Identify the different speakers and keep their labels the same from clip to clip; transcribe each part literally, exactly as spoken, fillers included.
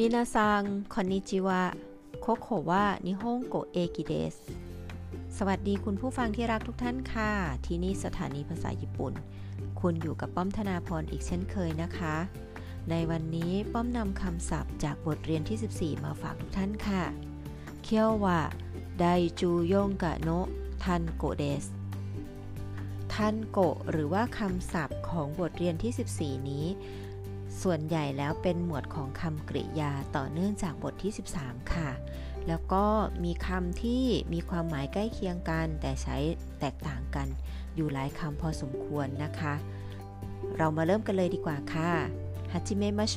Speaker 1: มินาซังคอนนิจิวะโคโคะวะนิฮงโกเอกิเดสสวัสดีคุณผู้ฟังที่รักทุกท่านค่ะที่นี่สถานีภาษาญี่ปุ่นคุณอยู่กับป้อมธนาพรอีกเช่นเคยนะคะในวันนี้ป้อมนำคำศัพท์จากบทเรียนที่สิบสี่มาฝากทุกท่านค่ะเคียววะไดจูยงกะโนะทันโกเดสทันโกะหรือว่าคำศัพท์ของบทเรียนที่สิบสี่นี้ส่วนใหญ่แล้วเป็นหมวดของคำกริยาต่อเนื่องจากบทที่สิบสามค่ะแล้วก็มีคำที่มีความหมายใกล้เคียงกันแต่ใช้แตกต่างกันอยู่หลายคำพอสมควรนะคะเรามาเริ่มกันเลยดีกว่าค่ะฮัจิเมะมาโช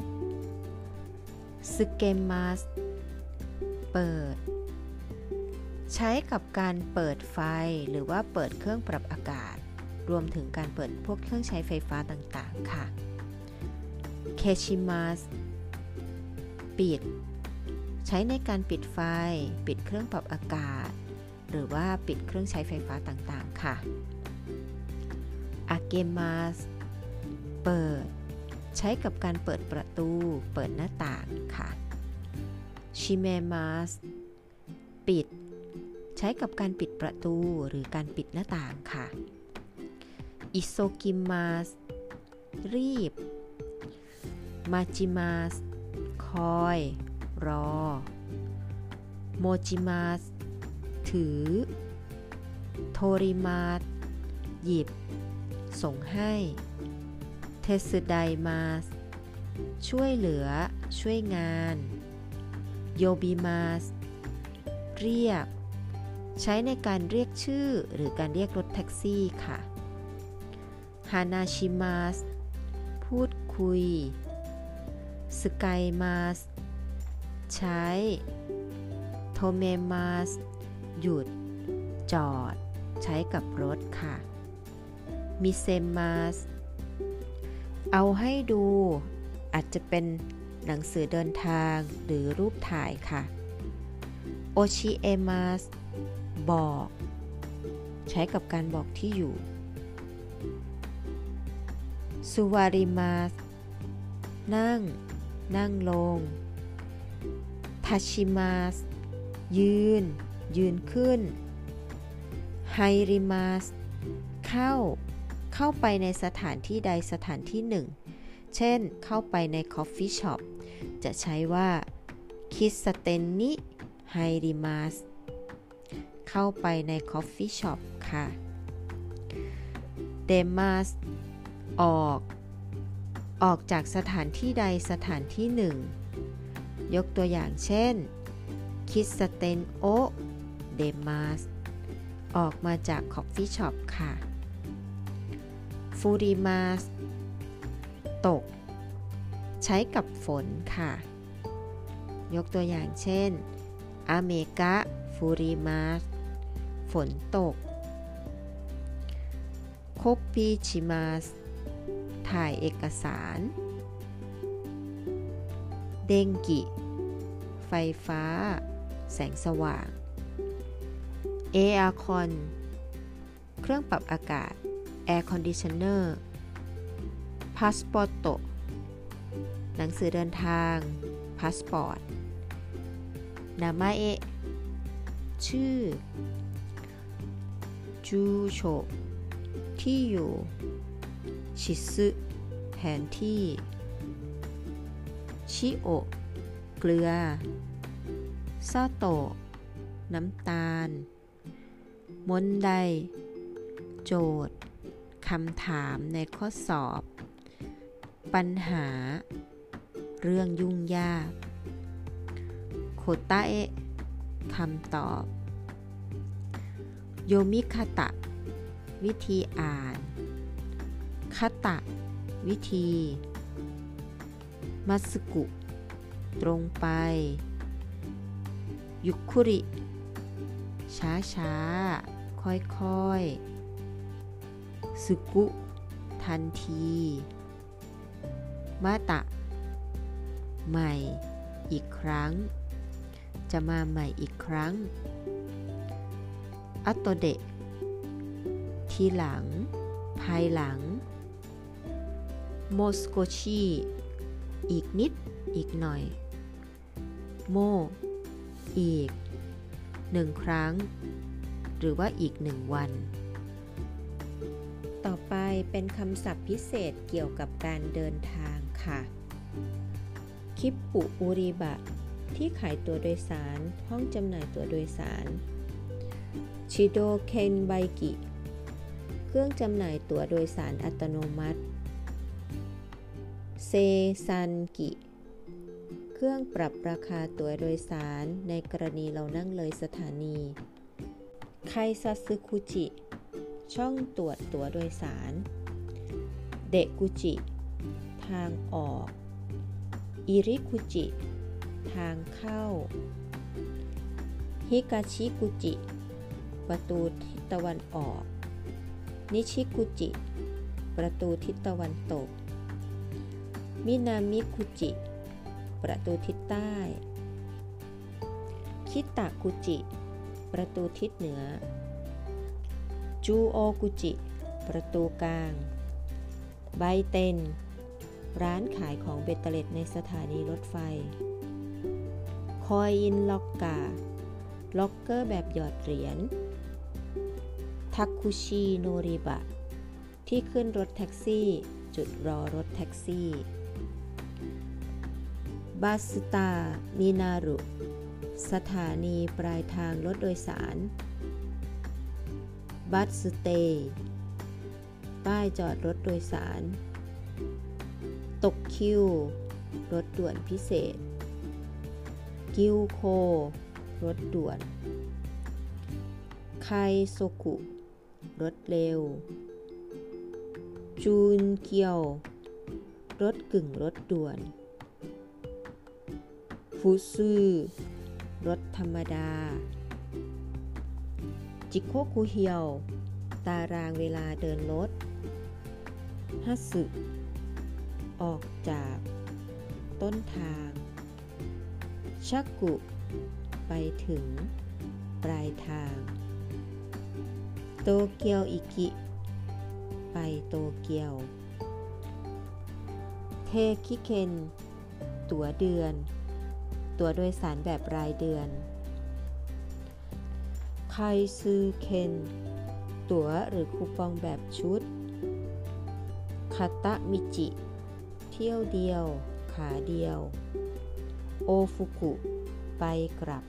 Speaker 1: ซึเกมัสเปิดใช้กับการเปิดไฟหรือว่าเปิดเครื่องปรับอากาศรวมถึงการเปิดพวกเครื่องใช้ไฟฟ้าต่างๆค่ะเคชิมัสปิดใช้ในการปิดไฟปิดเครื่องปรับอากาศหรือว่าปิดเครื่องใช้ไฟฟ้าต่างๆค่ะอาเกมัสเปิดใช้กับการเปิดประตูเปิดหน้าต่างค่ะชิเมมัสปิดใช้กับการปิดประตูหรือการปิดหน้าต่างค่ะอิโซกิมัสรีบมาจิมัสคอยรอโมจิมัสถือโทริมัสหยิบส่งให้เทสึไดมัสช่วยเหลือช่วยงานโยบิมัสเรียกใช้ในการเรียกชื่อหรือการเรียกรถแท็กซี่ค่ะฮานาชิมัสพูดคุยสกายมัสใช้โทเมมัสหยุดจอดใช้กับรถค่ะมิเซมัสเอาให้ดูอาจจะเป็นหนังสือเดินทางหรือรูปถ่ายค่ะโอชิเอมัสบอกใช้กับการบอกที่อยู่สุวาริมัสนั่งนั่งลงทัชิมัสยืนยืนขึ้นไฮริมัสเข้าเข้าไปในสถานที่ใดสถานที่หนึ่งเช่นเข้าไปในคอฟฟี่ช็อปจะใช้ว่าคิสเตนนิไฮริมัสเข้าไปในคอฟฟี่ช็อปค่ะเดมัสออกออกจากสถานที่ใดสถานที่หนึ่งยกตัวอย่างเช่นคิสเตนโอเดมัสออกมาจากคอฟฟี่ช็อปค่ะฟูริมัสตกใช้กับฝนค่ะยกตัวอย่างเช่นอเมกะฟูริมัสฝนตกโคปิชิมัสถ่ายเอกสารเดงกิไฟฟ้าแสงสว่างเออาร์คอนเครื่องปรับอากาศแอร์คอนดิชเนอร์พาสปอร์ตหนังสือเดินทางพาสปอร์ตนามาเอะชื่อจูโชที่อยู่ชิซึแผนที่ชิโอะเกลือซาโตะน้ำตาลมนไดโจทย์คำถามในข้อสอบปัญหาเรื่องยุ่งยากโคตาเอะคำตอบโยมิคาตะวิธีอ่านคาตะวิธีมัสกุตรงไปยุคุริช้าช้าค่อยค่อยสึกุทันทีมาตะใหม่อีกครั้งจะมาใหม่อีกครั้งอัตโตเดะทีหลังภายหลังโมสโกชิอีกนิดอีกหน่อยโมอีกหนึ่งครั้งหรือว่าอีกหนึ่งวันต่อไปเป็นคำศัพท์พิเศษเกี่ยวกับการเดินทางค่ะคิปปุอุริบะที่ขายตั๋วโดยสารห้องจำหน่ายตั๋วโดยสารชิโดเคนไบกิเครื่องจำหน่ายตั๋วโดยสารอัตโนมัติเซซันกิเครื่องปรับราคาตั๋วโดยสารในกรณีเรานั่งเลยสถานีไคซัสึคุจิช่องตรวจตั๋วโดยสารเดกุจิทางออกอิริคุจิทางเข้าฮิกาชิกุจิประตูทิศตะวันออกนิชิกุจิประตูทิศตะวันตกมินามิคุจิประตูทิศใต้คิตะกุจิประตูทิศเหนือจูโอกุจิประตูกลางไบเต็นร้านขายของเบตเตอร์เล็ตในสถานีรถไฟคอยอินล็อกกาล็อกเกอร์แบบหยอดเหรียญทักคุชิโนริบะที่ขึ้นรถแท็กซี่จุดรอรถแท็กซี่บาสตามินารุสถานีปลายทางรถโดยสารบัสสเตย์ป้ายจอดรถโดยสารตกคิวรถด่วนพิเศษกิวโครถด่วนไคโซกุรถเร็วจูนเกียวรถกึ่งรถด่วนฟุซึรถธรรมดาจิโคคุเฮียวตารางเวลาเดินรถฮัตสึออกจากต้นทางชักกุไปถึงปลายทางโตเกียวอิกิไปโตเกียวเทคิเคนตั๋วเดือนตั๋วโดยสารแบบรายเดือนไคซึเคนตั๋วหรือคูปองแบบชุดคาตะมิจิเที่ยวเดียวขาเดียวโอฟุกุไปกลับ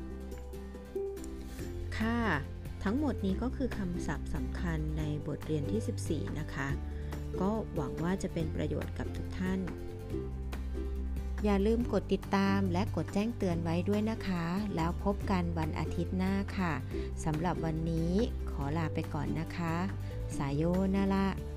Speaker 1: ค่ะทั้งหมดนี้ก็คือคำศัพท์สำคัญในบทเรียนที่สิบสี่นะคะก็หวังว่าจะเป็นประโยชน์กับทุกท่านอย่าลืมกดติดตามและกดแจ้งเตือนไว้ด้วยนะคะแล้วพบกันวันอาทิตย์หน้าค่ะสำหรับวันนี้ขอลาไปก่อนนะคะสายโยนาระ